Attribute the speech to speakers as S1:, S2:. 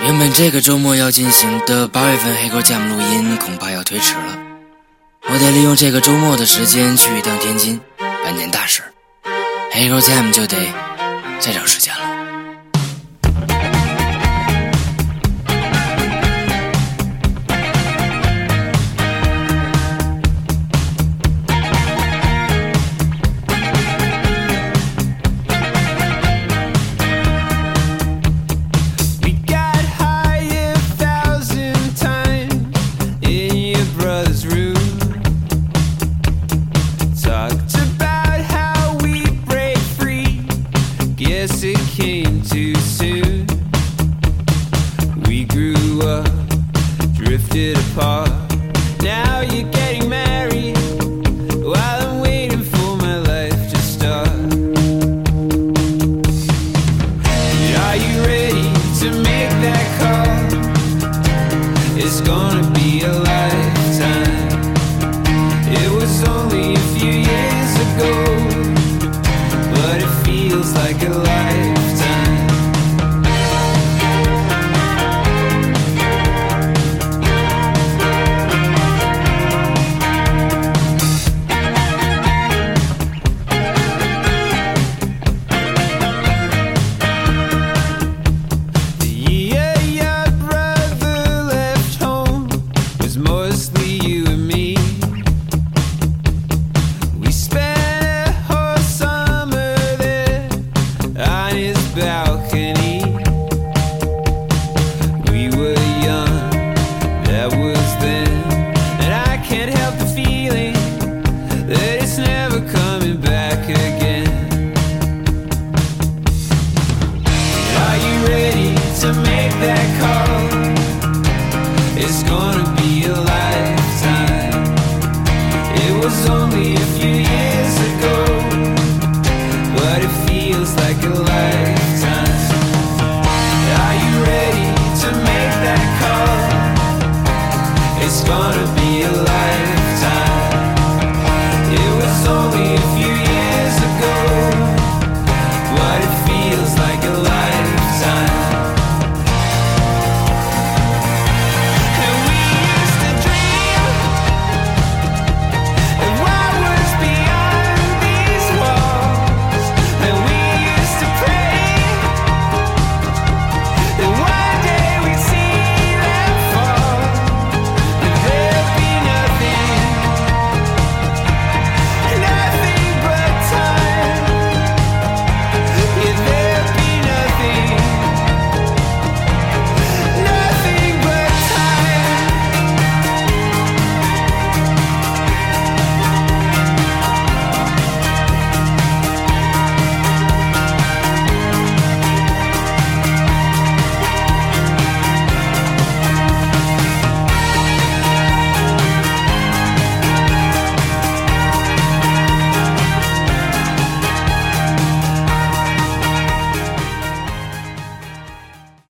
S1: 原本这个周末要进行的8月份黑狗 Jam 录音恐怕要推迟了，我得利用这个周末的时间去一趟天津办件大事，黑狗 Jam 就得再找时间了。
S2: Guess it came too soon. We grew up, drifted apart. Now you're getting married while I'm waiting for my life to start. Are you ready to make that call? It's gonna be a lifetime. It was only a few years ago, but it feels like a lifetime. The year your brother left home was mostly you and me. We spent a whole summer there on his balcony. We were young, that was then, and I can't help the feeling that it's never coming back again. Are you ready to make that call?